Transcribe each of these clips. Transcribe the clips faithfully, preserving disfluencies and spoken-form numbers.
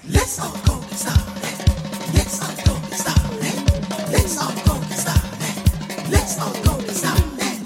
Let's all go get started. Let's all go get started. Let's all go get started. Let's all go get started.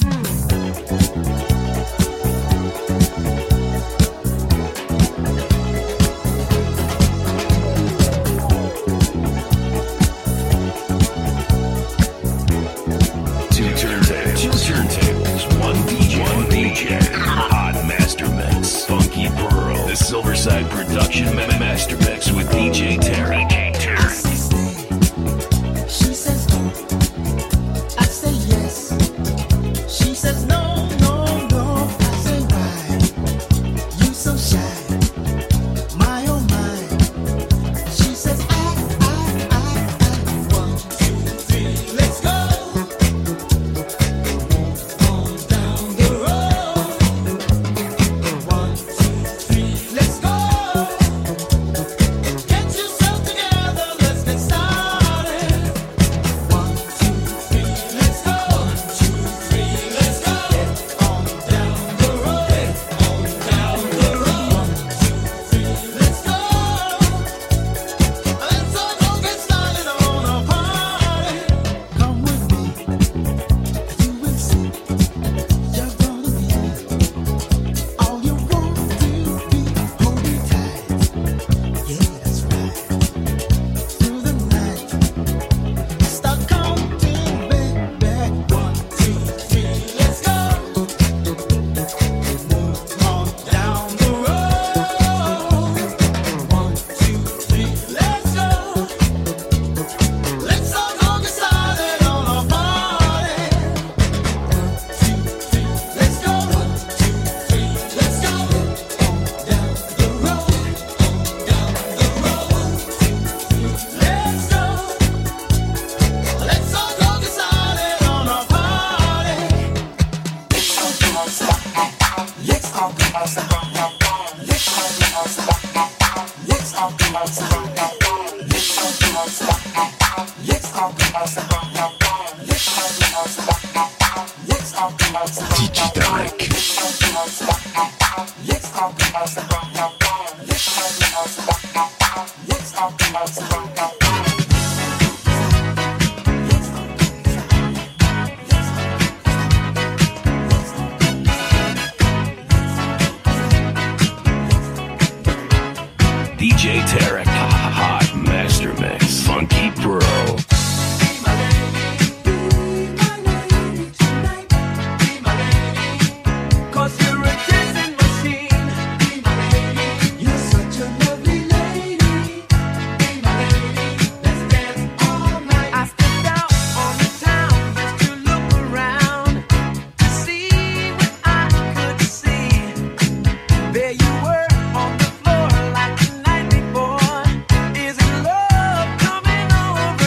Two turntables, two turntables, one D J, one D J, hot master mix, Funky Pearl, the Silverside production ma- master mix with D J Tarek. D J Tarek. She says no, I say yes. She says no, no, no, I say why? You so shy, my oh my. She says I, I, I, I. One, two, three, let's go. On down the road. One, two, three, let's go. Get yourself together, let's get started. One, two, three, let's go. One, two, three, let's go. Get on down the road. On down the road. One, two, three, let's go. Let's all go get started on a party. Come with me, you will see. You're gonna be all you want to be. Hold me tight, yeah, that's right. Through the night, start counting, baby. One, two, three, let's go. Move on down the road. One, two, three, let's go. Let's all go get started on a party. One, two, three, let's go. One, two, three, let's go. On down the road. On down the road. One, two, three, let's go. Let's all go get started on a party. Let's all go outside. Let's all go outside. Let's all go outside. Let's all go outside. Let's all go outside. Let's all go outside. Let's all go outside. Let's all go outside. D J Tarek. Let's all go outside. Let's all go outside. Let's all go outside. Let's all go outside. D J Tarek, hot master mix, Funky Pearl. Cause you're a dancing machine. You're such a lovely lady. Let's dance all night. I stepped out on the town just to look around to see what I could see. There you were on the floor like the night before. Is it love coming over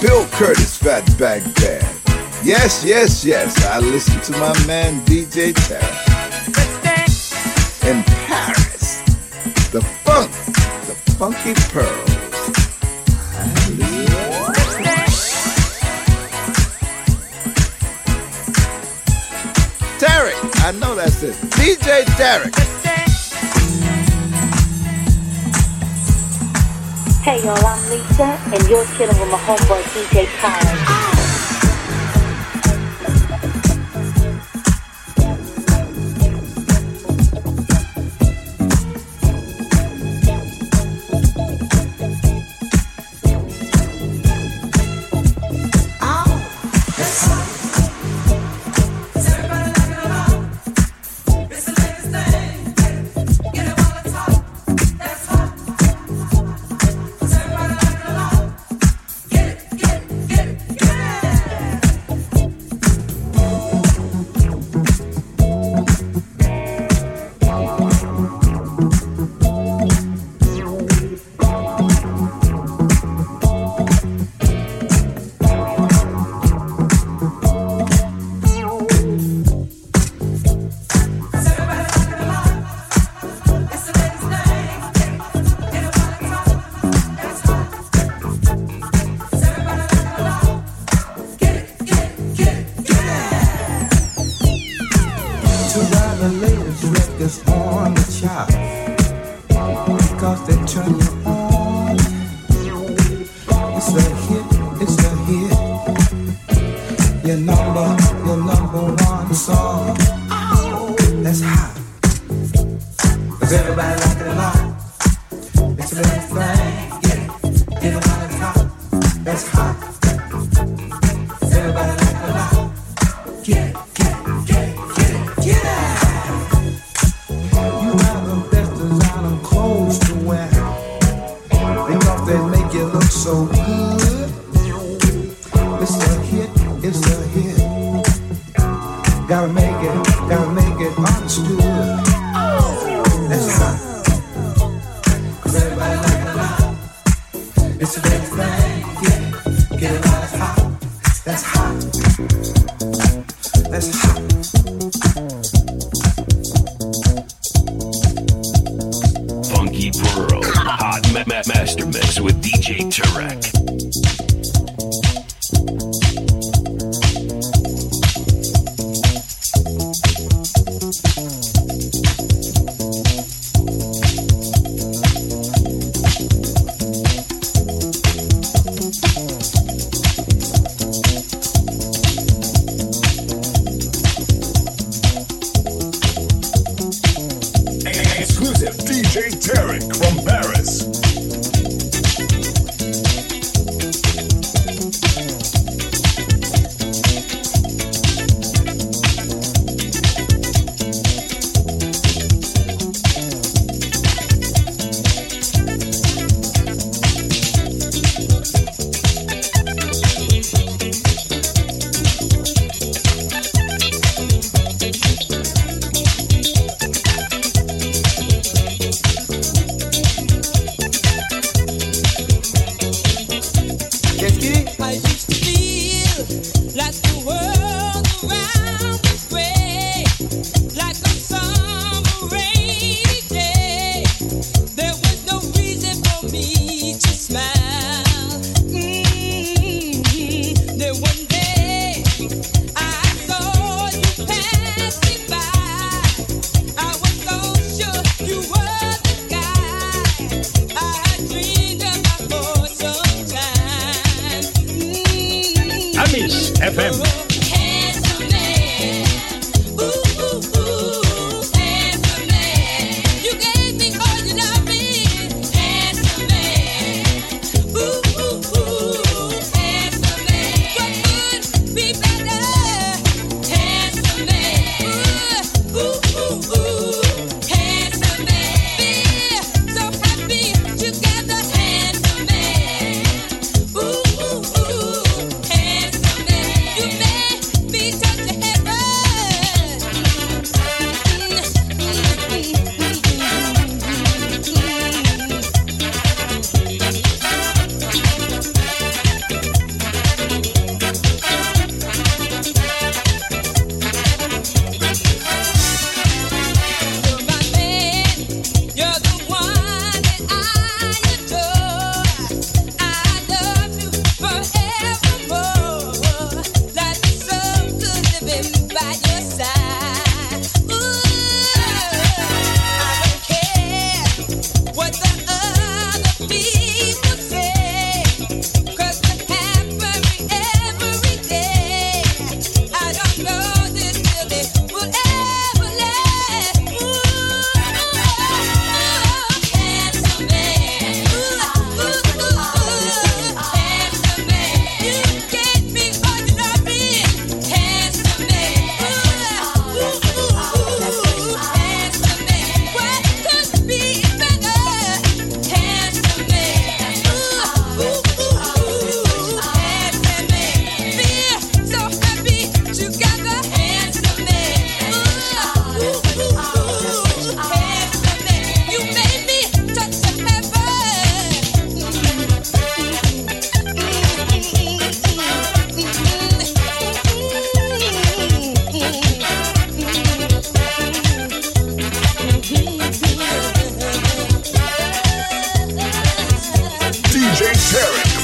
Bill Curtis, Fatback Band. Yes, yes, yes, I listen to my man D J Tarek. In Paris, the funk, the funky pearl. Tarek, I know that's it. D J Tarek. Hey y'all, I'm Lisa, and you're chilling with my homeboy D J Tarek. You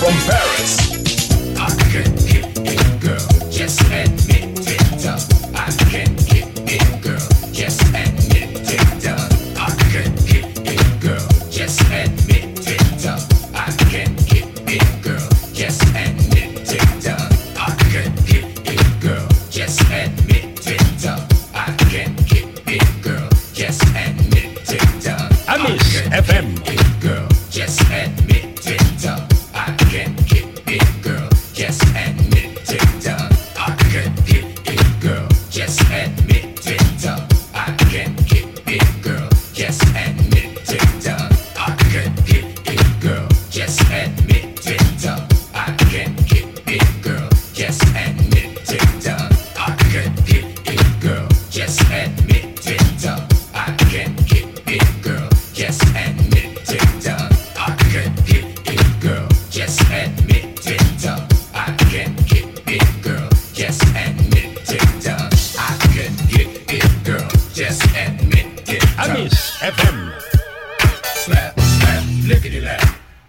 from Paris. I can get it, girl. Just admit it. uh, I can get it, girl. Just admit it. uh, I can get it, girl. Just admit it. uh, I can get it, girl. Just admit it. uh, I can get it, girl. Just admit it. uh, I can get it, girl. Just admit it. uh, Amis F M. Girl, just admit it. uh, I can get it, girl. Just admit it. uh, I can get it, girl. Just admit it. uh, I can get it, girl. Just admit it. uh, I can get it, girl. Just admit it. uh, I can get it, girl. Just admit it. uh, I can get it, girl. Just admit it. uh, I can get it, girl. Just admit it. uh, I can get it, girl. Just admit it. uh, I can get it, girl. Just admit it. uh, I can get it, girl. Just admit it. uh, Amis F M. Slap, slap, lickety lap.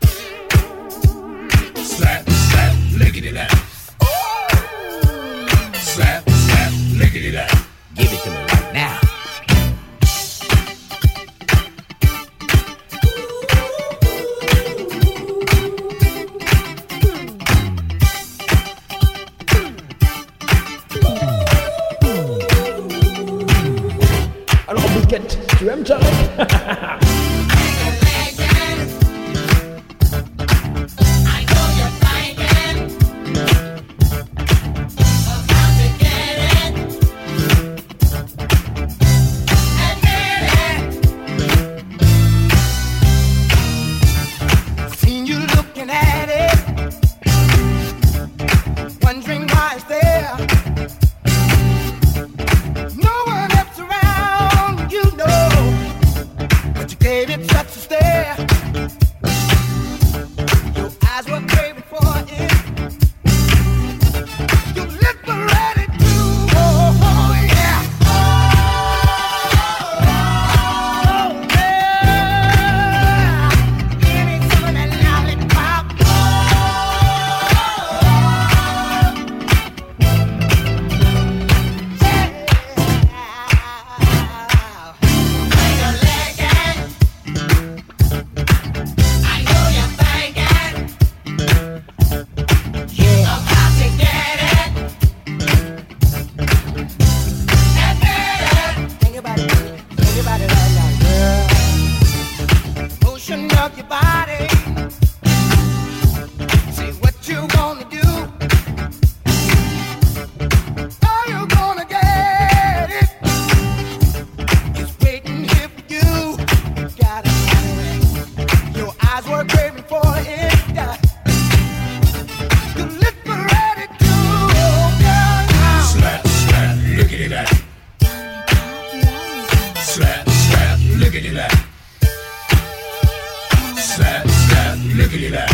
Slap, slap, lickety lap. Slap, slap, lickety lap. Give it to me right now. Alors Bouquette, tu aimes Charlie? Seen you looking at it, wondering why it's there. No one else around, you know, but you gave it such a stare. Your eyes were craving for it. Your lips were ready to, oh, oh yeah. Oh, yeah. Give me some of that lollipop. Think about it, think about it right now, girl. Motion of your body. Say what you wanna do. Are you gonna get it? It's waiting here for you. Got it. Your eyes were craving for it. Your lips were ready to, oh, girl, now. Slap, slap, lickety lap. Slap, slap, lickety lap. Slap, slap, lickety lap.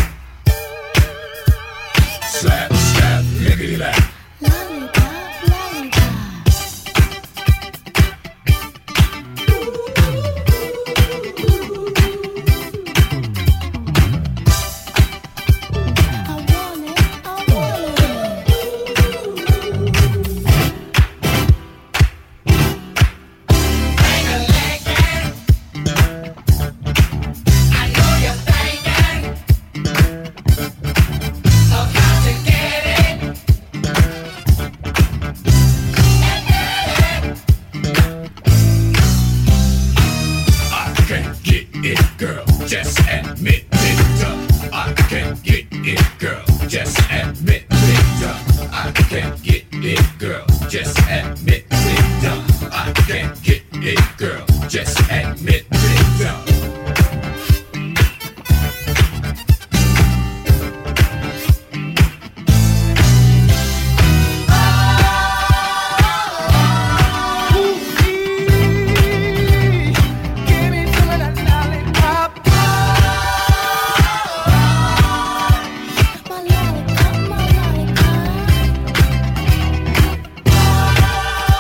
Slap, slap, lickety lap. I can get it, girl. Just admit it. uh, I can get it, girl. Just admit it. uh, I can get it, girl. Just admit it. uh, I can get it, girl. Just admit it. uh. Give me some of that lollipop. My lollipop, my lollipop.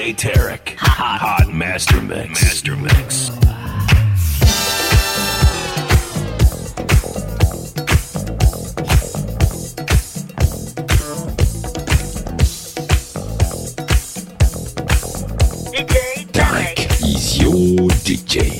J Tarek. Hot, hot master mix. Master mix. D J Tarek is your D J.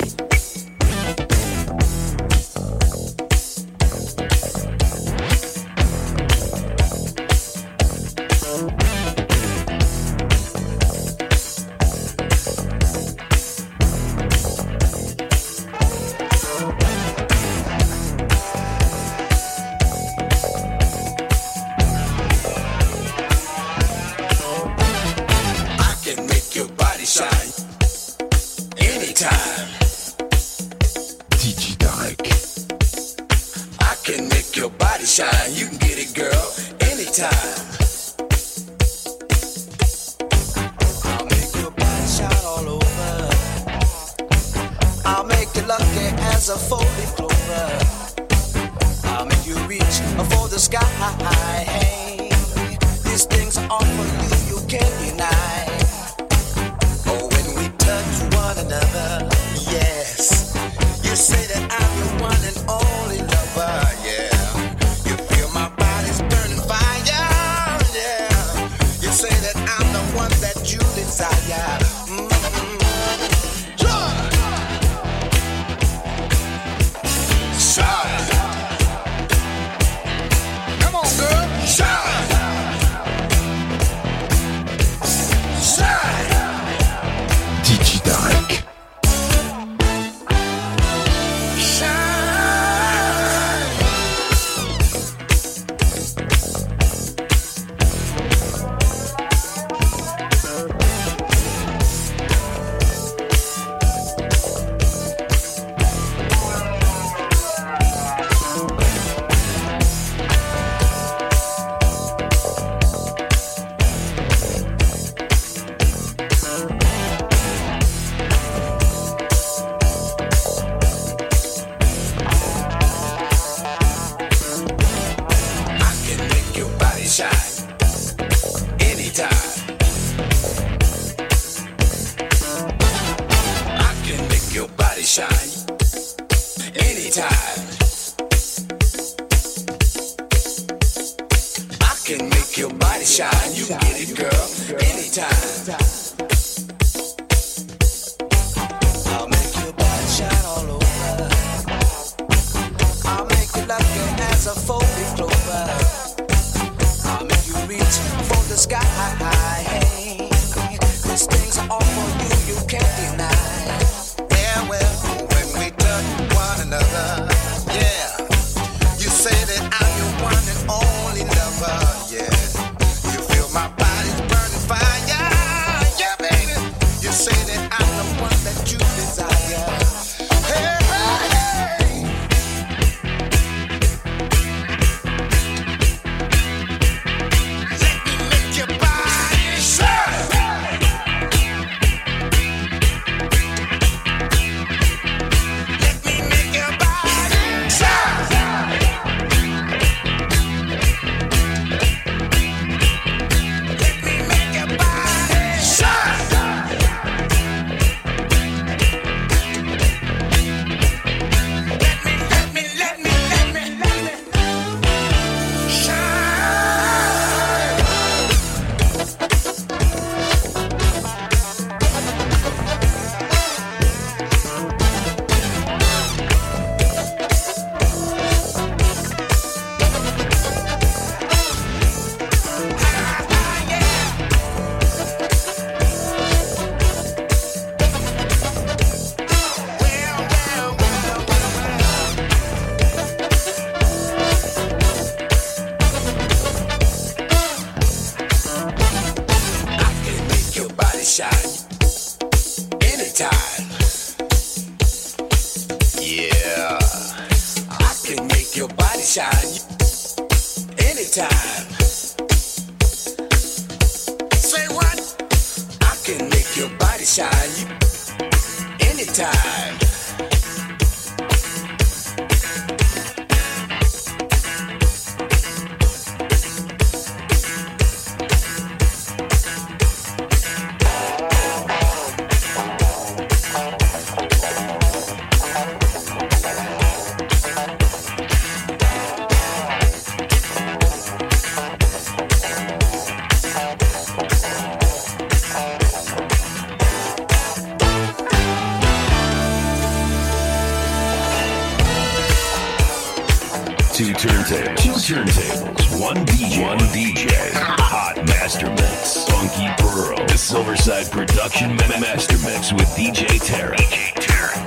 Two turntables. Two turntables. One D J. One D J. Hot Master Mix. Funky Pearl. The Silverside Production ma- Master Mix with D J Tarek. D J Tarek.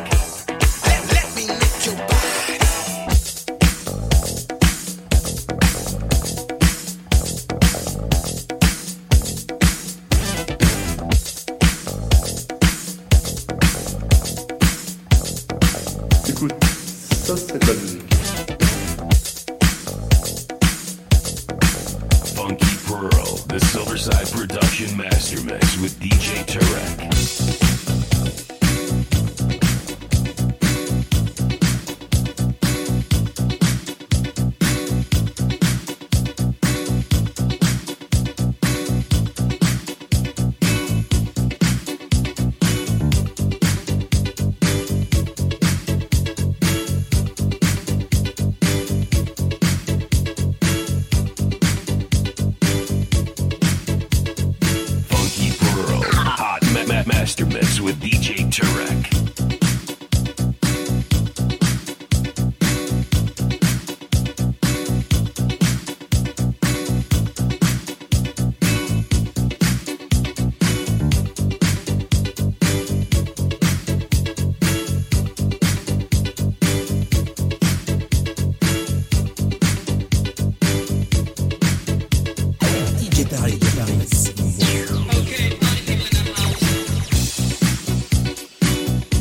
Ça, c'est de la musique. Funky Pearl, the Silverside Production Master Mix with D J Tarek. Master Mix with D J Tarek. D J Tarek, Tarek.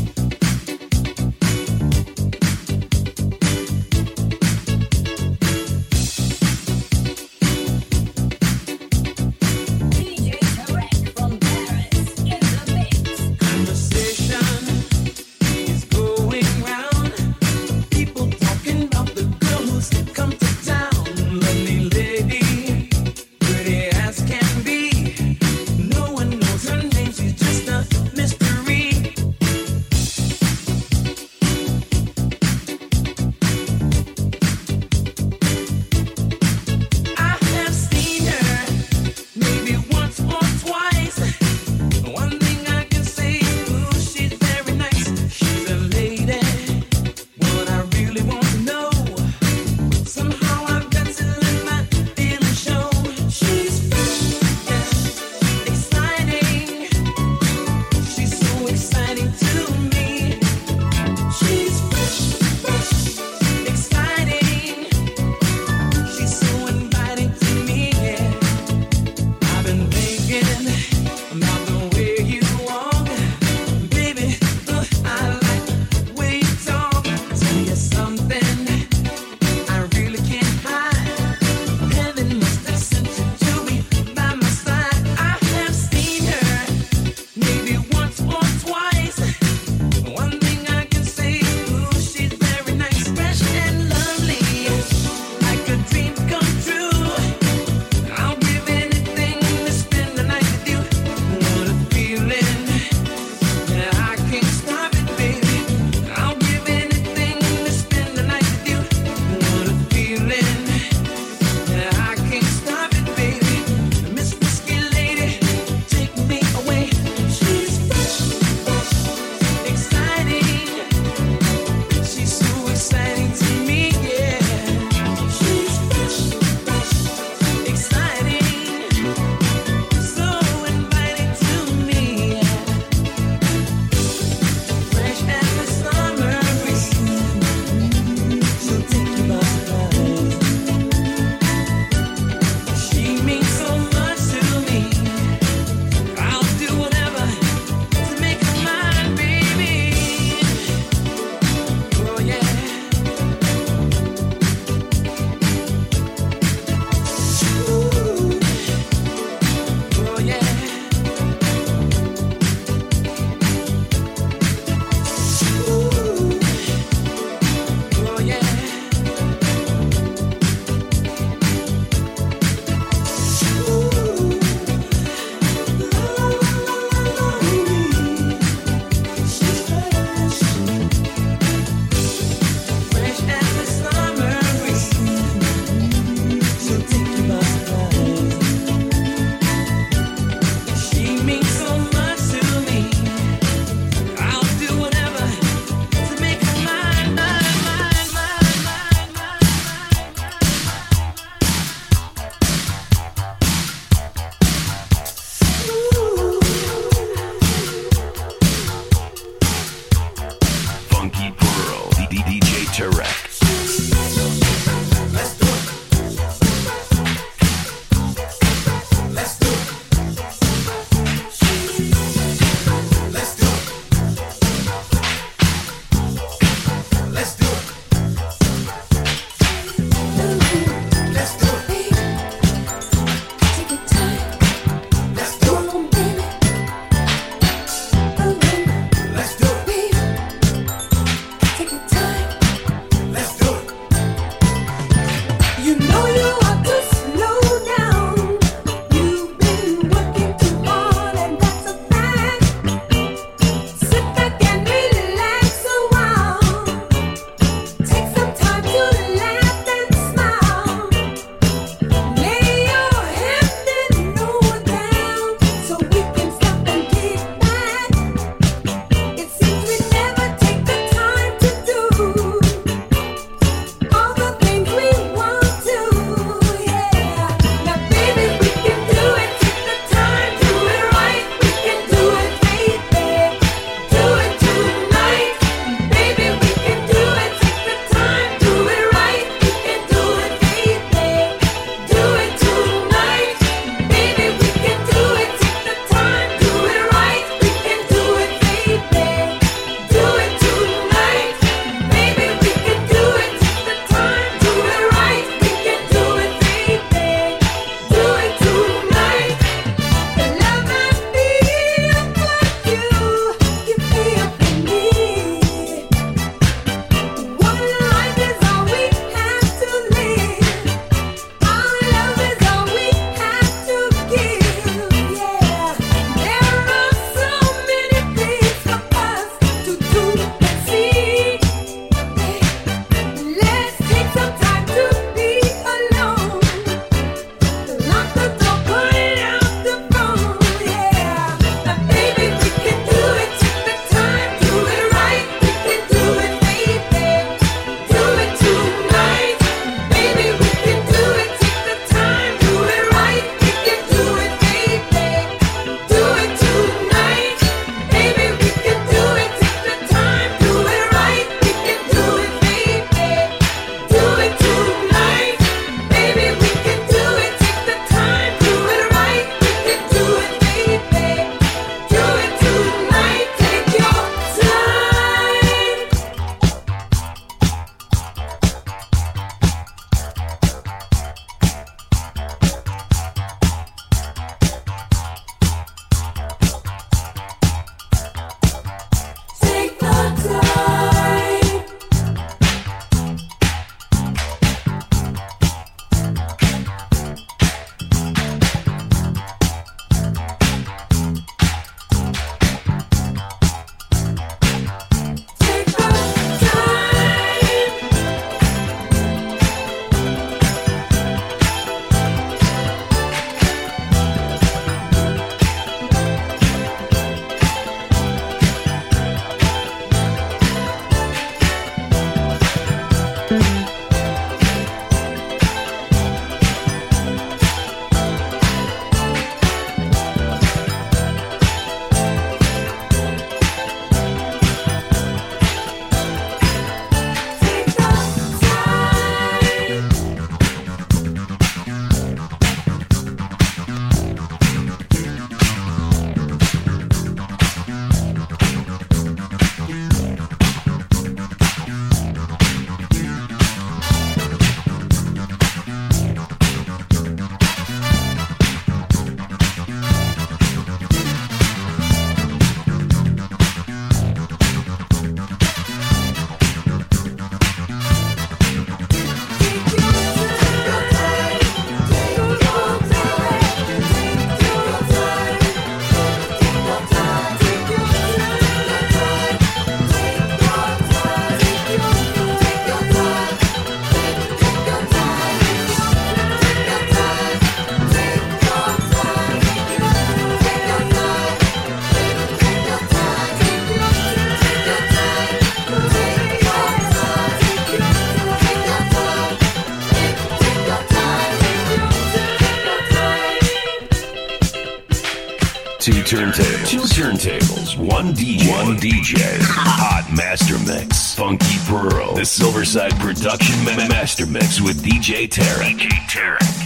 Two turntables. Two turntables. One D J. One D J. Hot Master Mix. Funky Pearl. The Silverside Production ma- Master Mix with D J Tarek. D J Tarek.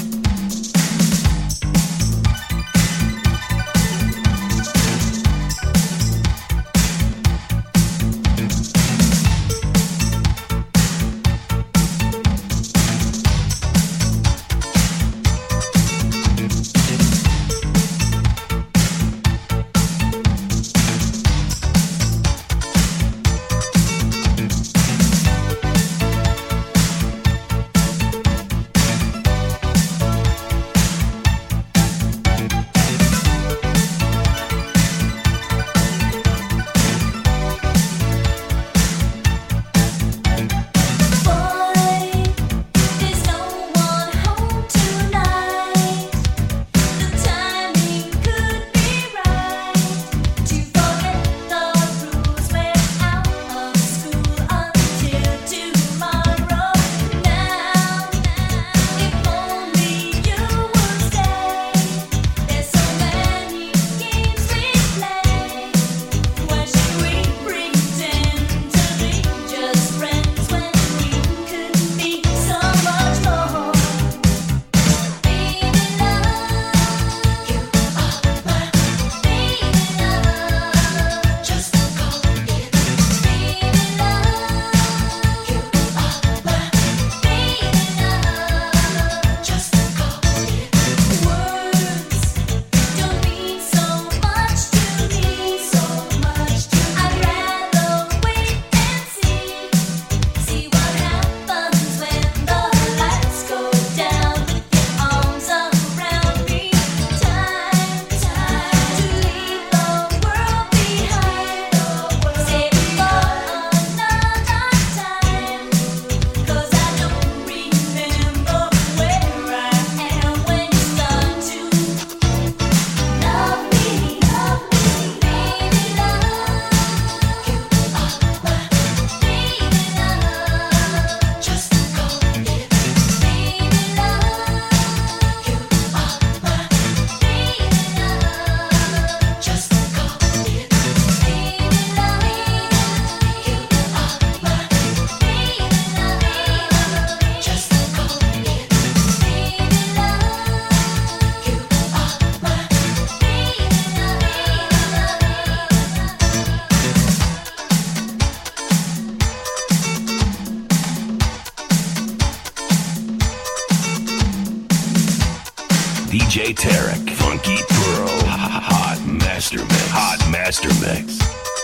D J Tarek, Funky Pearl, Hot Master Mix, Hot Master Mix.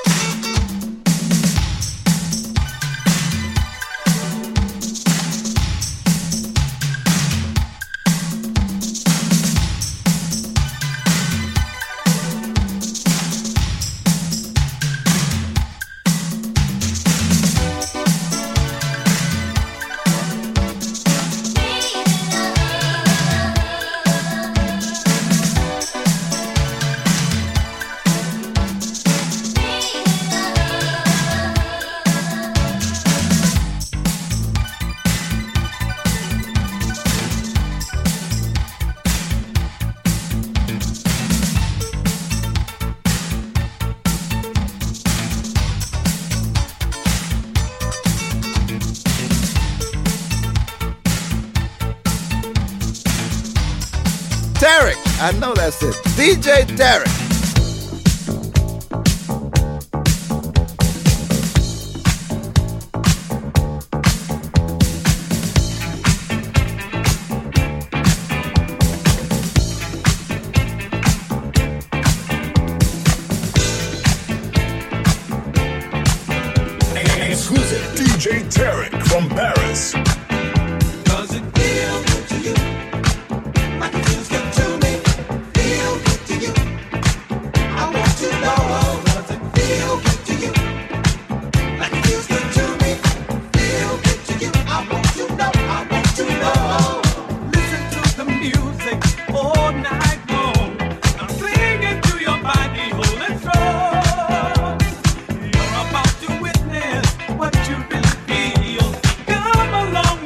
Tarek, I know that's it. D J Tarek. Exclusive D J Tarek from Paris. Does it feel good to you? Like it feels good to me. Feel good to you. I want to know. Does it feel good to you? Like it feels good to me. Feel good to you. I want to know. I want to know. Listen to the music all night long. I'm clinging to your body, holding strong. You're about to witness what you really feel. Come along.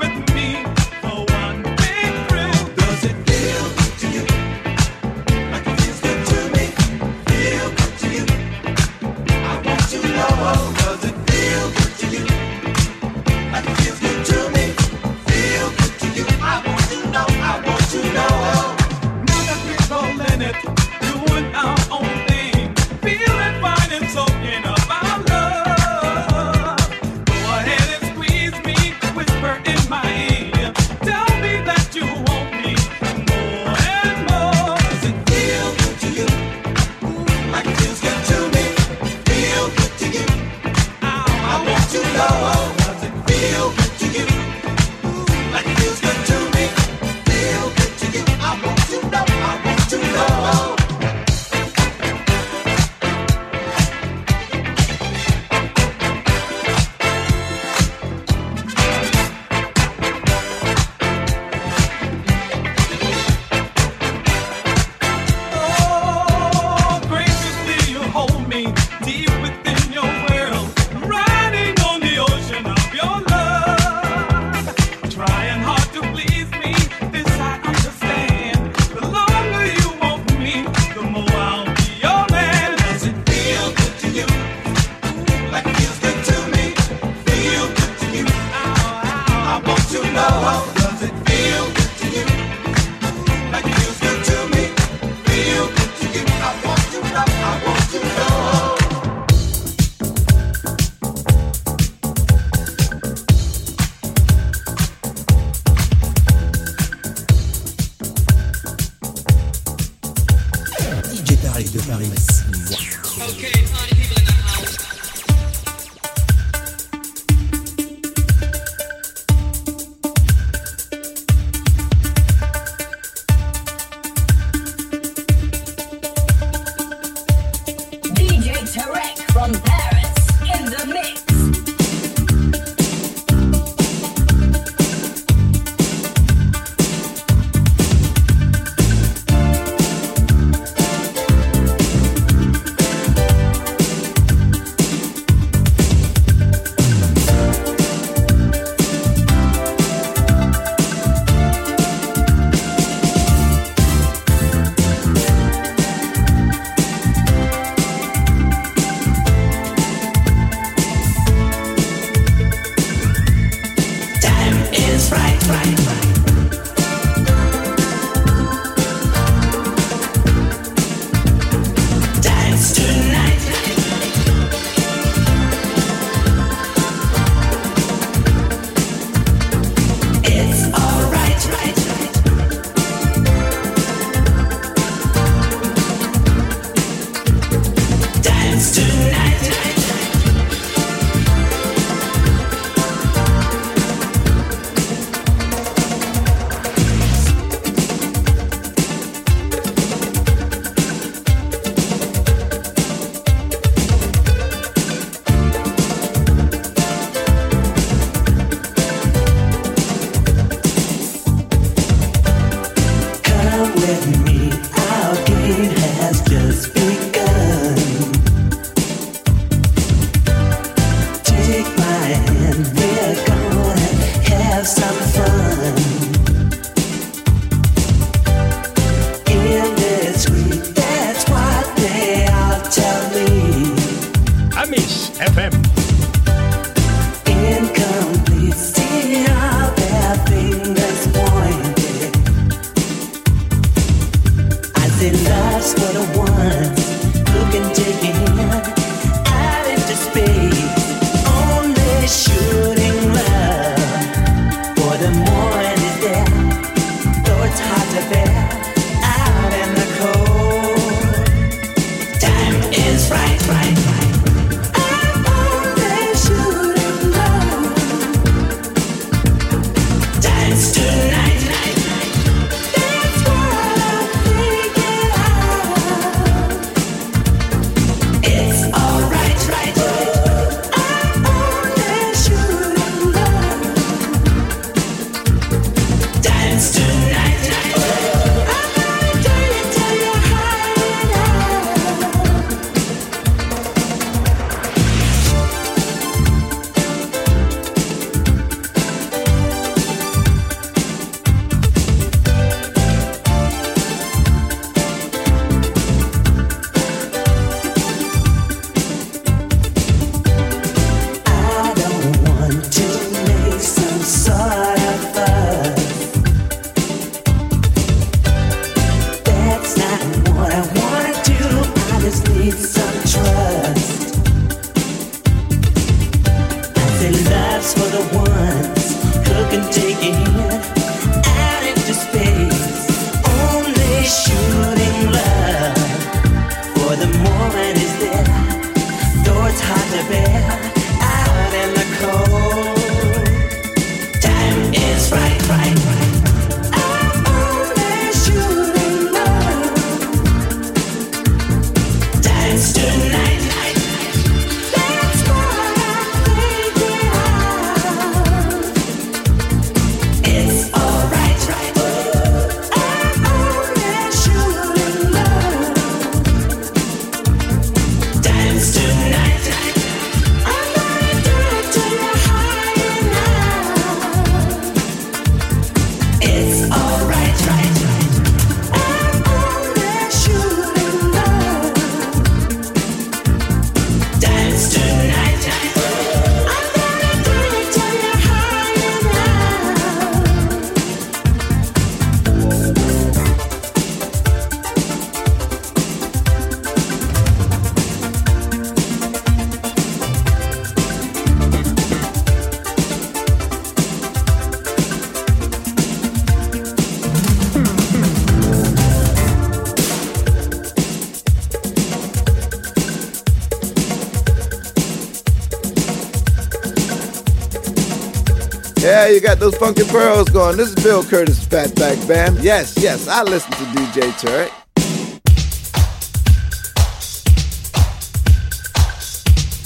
Yeah, you got those funky pearls going. This is Bill Curtis, Fatback Band. Yes, yes, I listen to D J Tarek.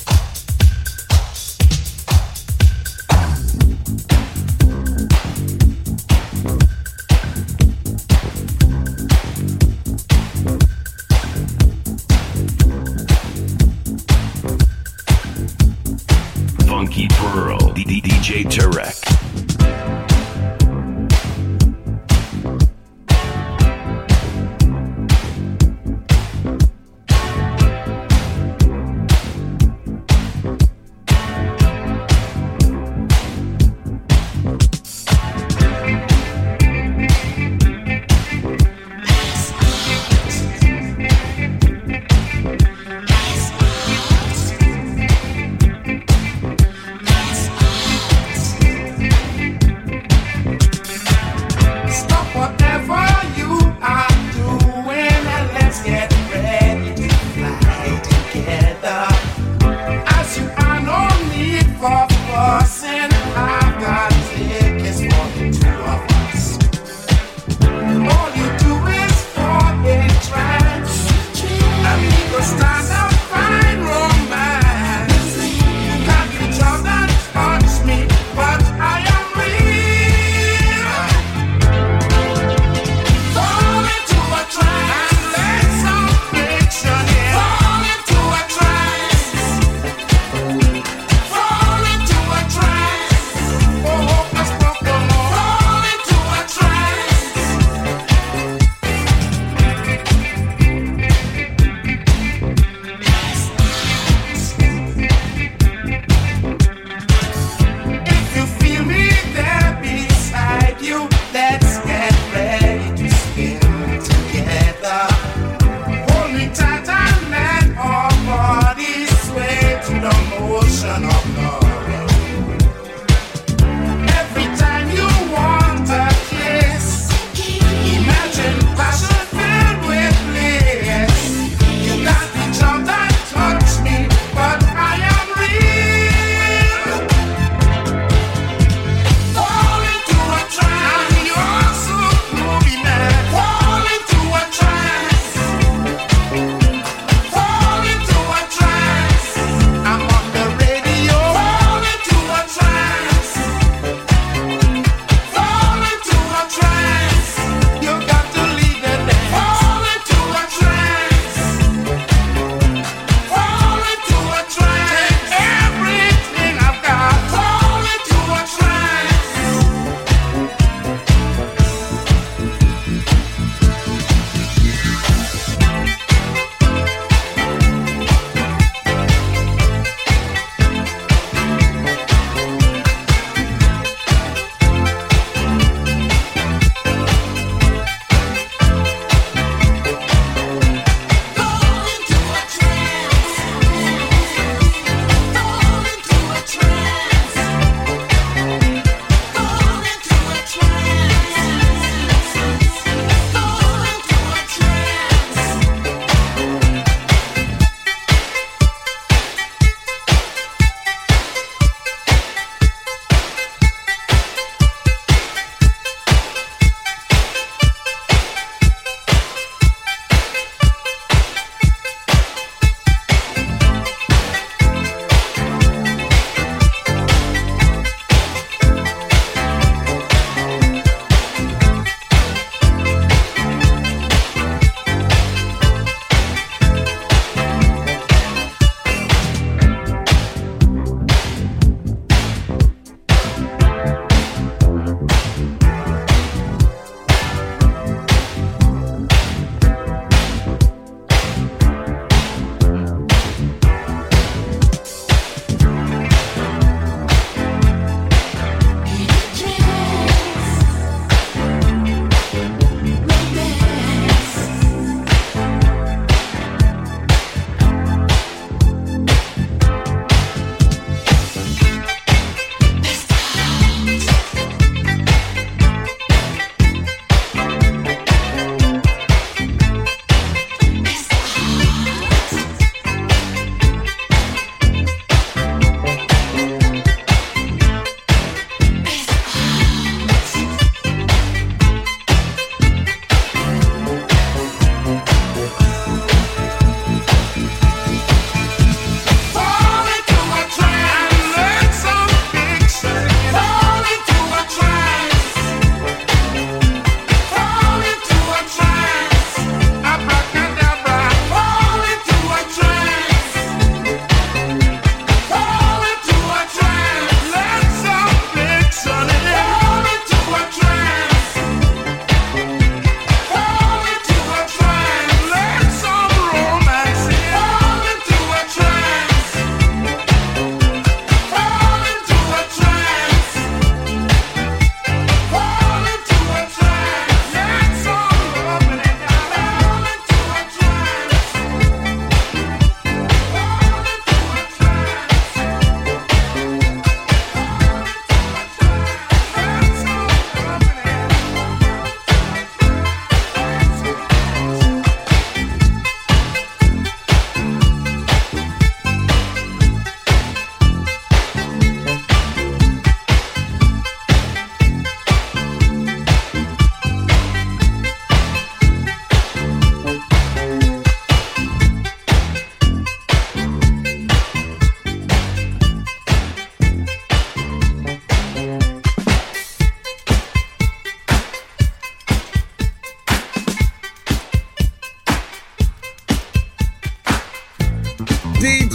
J Tarek. I'm on the radio.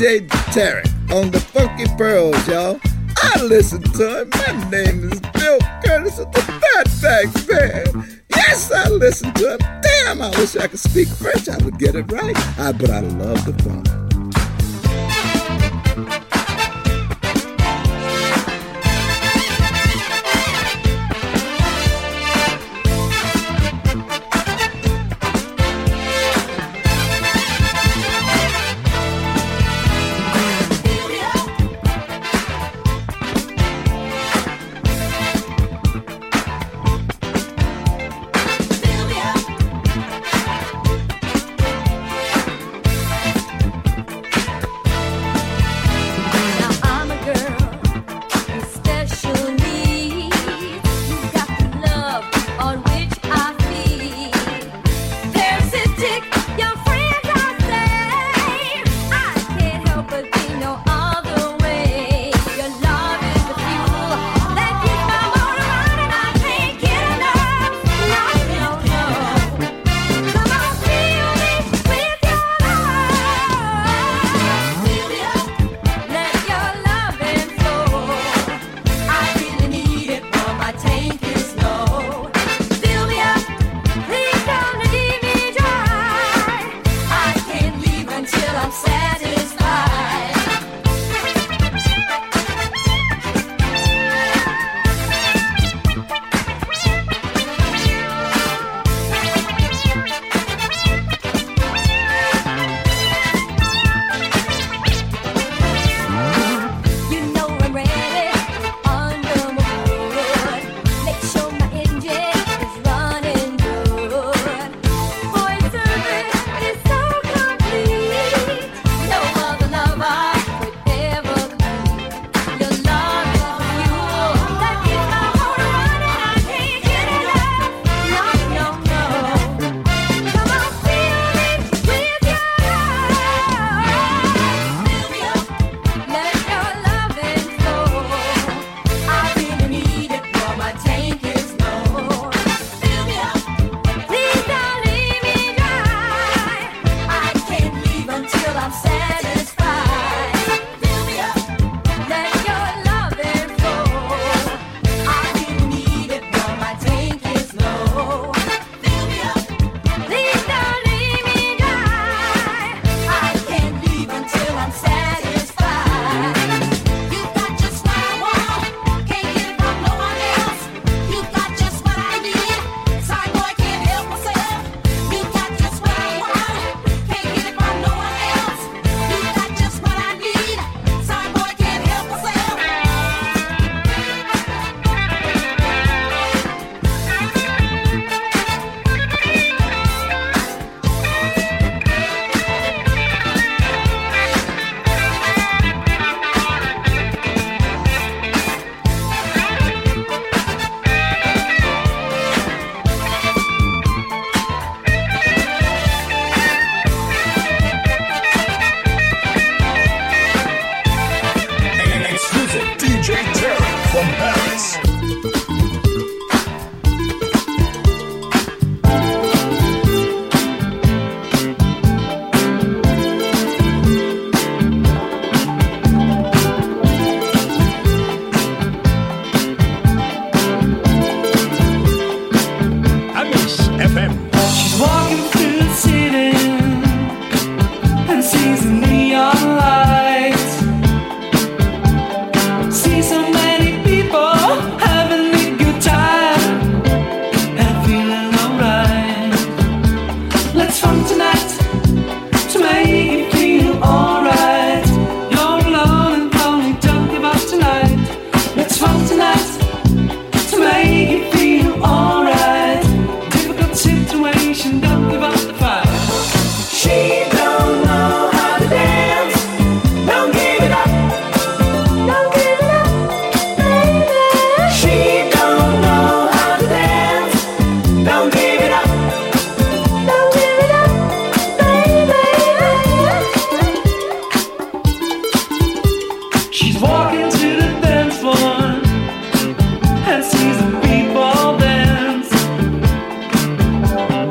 J Tarek on the Funky Pearls, y'all. I listen to him. My name is Bill Curtis of the Fatback Band. Yes, I listen to him. Damn, I wish I could speak French. I would get it right. I, but I love the funk.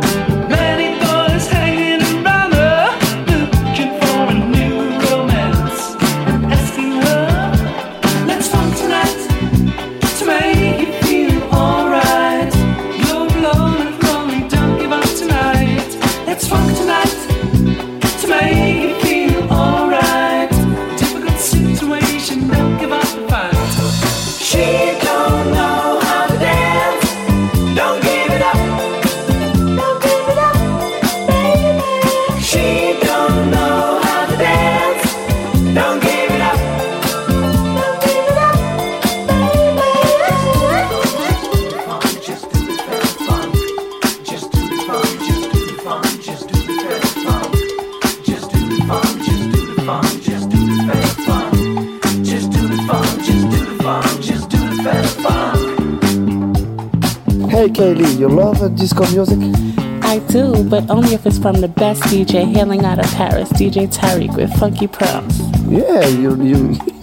Many boys hanging around her, looking for a new romance. Hey Kaylee, you love uh, disco music? I do, but only if it's from the best D J hailing out of Paris, D J Tarek with Funky Pearls. Yeah, you you